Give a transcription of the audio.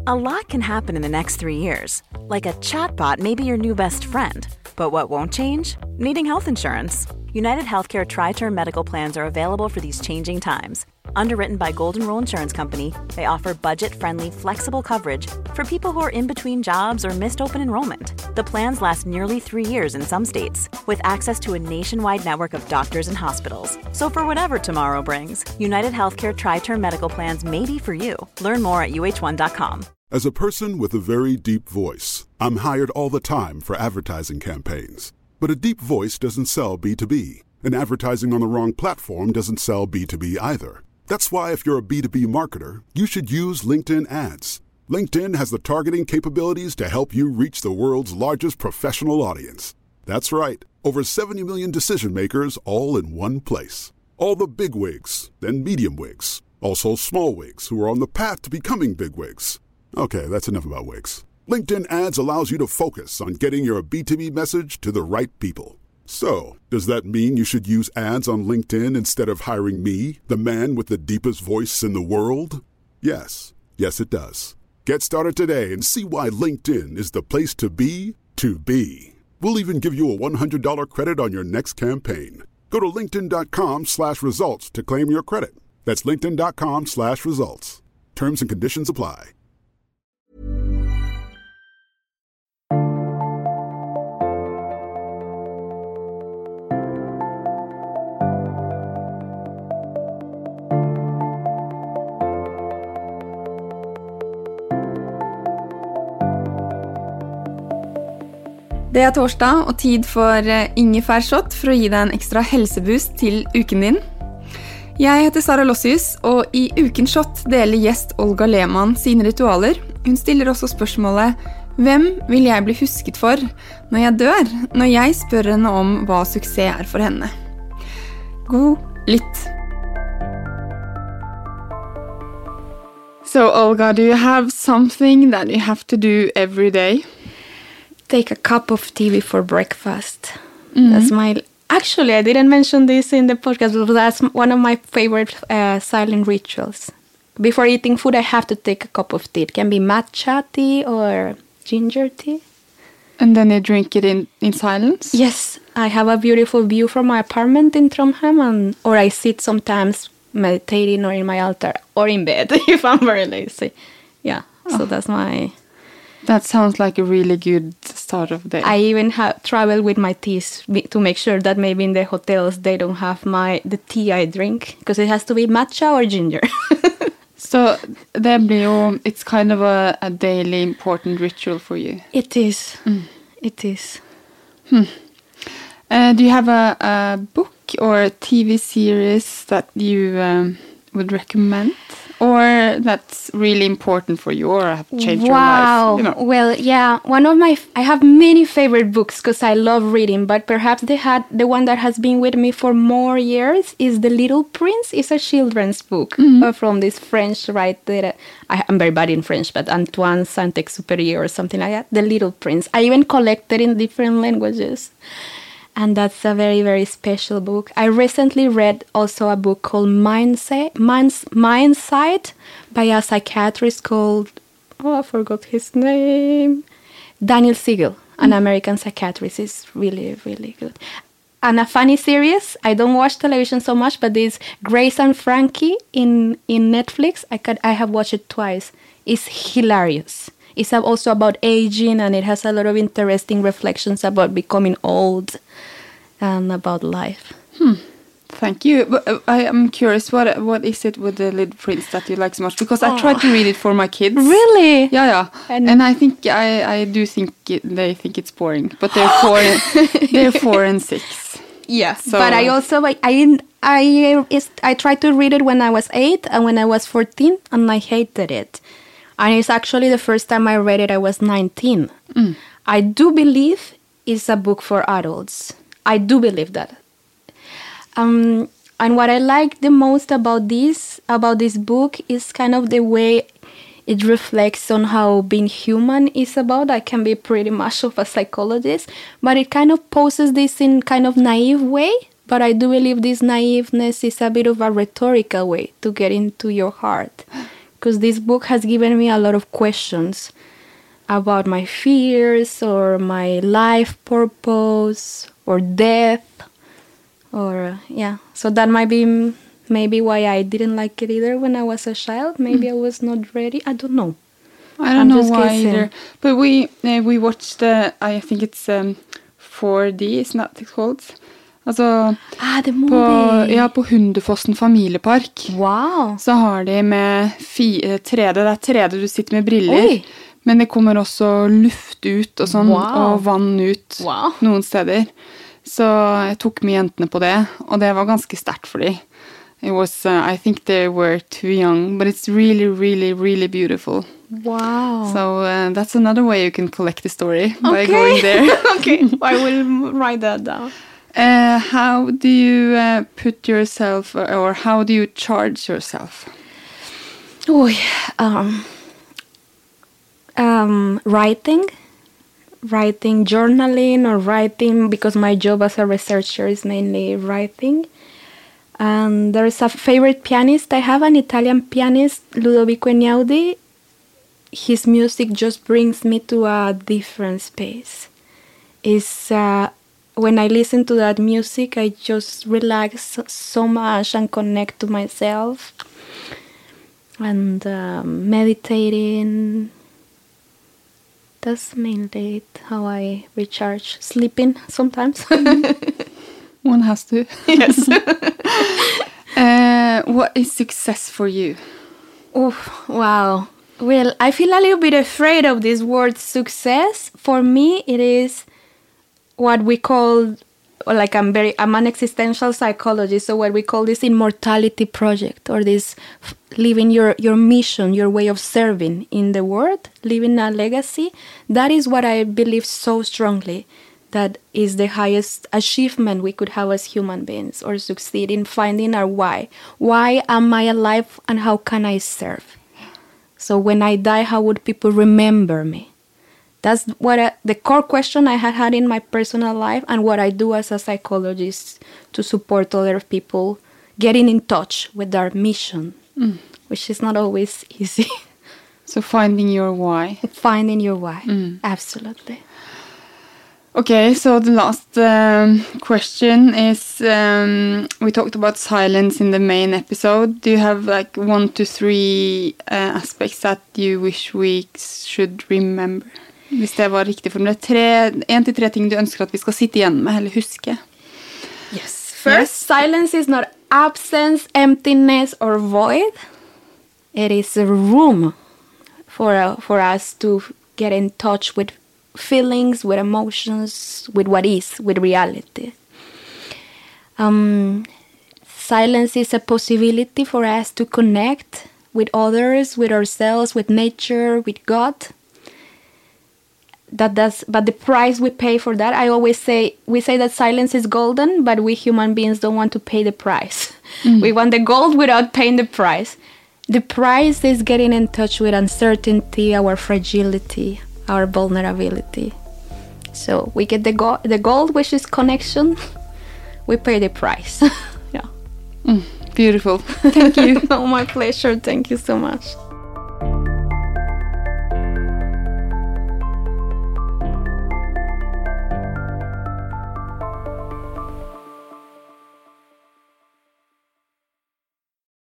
A lot can happen in the next 3 years. Like a chatbot may be your new best friend. But what won't change? Needing health insurance. United Healthcare Tri-Term Medical Plans are available for these changing times. Underwritten by Golden Rule Insurance Company, they offer budget-friendly, flexible coverage for people who are in between jobs or missed open enrollment. The plans last nearly 3 years in some states, with access to a nationwide network of doctors and hospitals. So for whatever tomorrow brings, United Healthcare Tri-Term Medical Plans may be for you. Learn more at uh1.com. As a person with a very deep voice, I'm hired all the time for advertising campaigns. But a deep voice doesn't sell B2B, and advertising on the wrong platform doesn't sell B2B either. That's why if you're a B2B marketer, you should use LinkedIn ads. LinkedIn has the targeting capabilities to help you reach the world's largest professional audience. That's right, over 70 million decision makers all in one place. All the big wigs, then medium wigs, also small wigs who are on the path to becoming big wigs. Okay, that's enough about wigs. LinkedIn ads allows you to focus on getting your B2B message to the right people. So, does that mean you should use ads on LinkedIn instead of hiring me, the man with the deepest voice in the world? Yes. Yes, it does. Get started today and see why LinkedIn is the place to be to be. We'll even give you a $100 credit on your next campaign. Go to linkedin.com/results to claim your credit. That's linkedin.com/results. Terms and conditions apply. Det er torsdag og tid for ingefærshot for å gi deg en ekstra helseboost til uken din. Jeg heter Sara Lossius, og i ukens shot deler gjest Olga Lehmann sine ritualer. Hun stiller også spørsmålet «Hvem vil jeg bli husket for når jeg dør?» når jeg spør henne om hva suksess er for henne. God lytt! So Olga, do you have something that you have to do every day? Take a cup of tea before breakfast. That's my... Actually, I didn't mention this in the podcast, but that's one of my favorite silent rituals. Before eating food, I have to take a cup of tea. It can be matcha tea or ginger tea. And then you drink it in silence? Yes. I have a beautiful view from my apartment in Trondheim, or I sit sometimes meditating or in my altar or in bed if I'm very lazy. Yeah, so that's my... That sounds like a really good start of the day. I even travel with my teas to make sure that maybe in the hotels they don't have the tea I drink, because it has to be matcha or ginger. So it's kind of a daily important ritual for you. It is. It is. Do you have a book or a TV series that you would recommend? Or that's really important for you or have changed your life? You know. Well, yeah. I have many favorite books because I love reading, but perhaps the one that has been with me for more years is The Little Prince. It's a children's book from this French writer. I'm very bad in French, but Antoine Saint-Exupéry or something like that. The Little Prince. I even collected in different languages. And that's a very, very special book. I recently read also a book called Mindsight by a psychiatrist called, I forgot his name, Daniel Siegel, an American psychiatrist. Is really, really good. And a funny series, I don't watch television so much, but this Grace and Frankie in Netflix, I have watched it twice. It's hilarious. It's also about aging, and it has a lot of interesting reflections about becoming old and about life. Thank you. But I am curious, what is it with The Little Prince that you like so much? Because I tried to read it for my kids. Really? Yeah. And I think I do think they think it's boring. But they're 4 and 6. Yeah. So. But I also I tried to read it when I was 8 and when I was 14, and I hated it. And it's actually the first time I read it, I was 19. I do believe it's a book for adults. I do believe that. And what I like the most about this book is kind of the way it reflects on how being human is about. I can be pretty much of a psychologist, but it kind of poses this in kind of naive way. But I do believe this naiveness is a bit of a rhetorical way to get into your heart. because this book has given me a lot of questions about my fears or my life purpose or death or so that might be maybe why I didn't like it either when I was a child. Maybe I was not ready. I don't know. I don't know why either. But we watched I think it's 4D, isn't that it's called? Altså, the movie. På Hundefossen familiepark. Wow. Så har de med 3D, det 3D du sitter med briller. Oi. Men det kommer også luft ut og sånn, og vann ut noen steder. Så jeg tok med jentene på det, og det var ganske sterkt for dem. It was, I think they were too young, but it's really, really, really beautiful. Wow. So that's another way you can collect the story by going there. Okay, I will write that down. How do you put yourself, or how do you charge yourself? Writing, journaling, or writing, because my job as a researcher is mainly writing. And there's a favorite pianist. I have an Italian pianist, Ludovico Einaudi. His music just brings me to a different space. When I listen to that music, I just relax so much and connect to myself. And meditating. That's mainly how I recharge. Sleeping sometimes. One has to. Yes. What is success for you? Oh, wow. Well, I feel a little bit afraid of this word success. For me, it is what we call, like I'm an existential psychologist, so what we call this immortality project, or this living your mission, your way of serving in the world, living a legacy. That is what I believe so strongly. That is the highest achievement we could have as human beings, or succeed in finding our why. Why am I alive and how can I serve? So when I die, how would people remember me? That's what the core question I had in my personal life, and what I do as a psychologist to support other people getting in touch with their mission, which is not always easy. So finding your why. Finding your why, absolutely. Okay, so the last question is, we talked about silence in the main episode. Do you have like 1 to 3 aspects that you wish we should remember? Hvis det var riktig formulert. 1 til 3 ting du ønsker at vi skal sitte igjen med, eller huske. Yes. First, silence is not absence, emptiness, or void. It is a room for us to get in touch with feelings, with emotions, with what is, with reality. Silence is a possibility for us to connect with others, with ourselves, with nature, with God. But the price we pay for that, I always say, we say that silence is golden, but we human beings don't want to pay the price. We want the gold without paying the price. The price is getting in touch with uncertainty, our fragility, our vulnerability. So we get the gold, which is connection. We pay the price. Beautiful. Thank you. Oh, my pleasure. Thank you so much.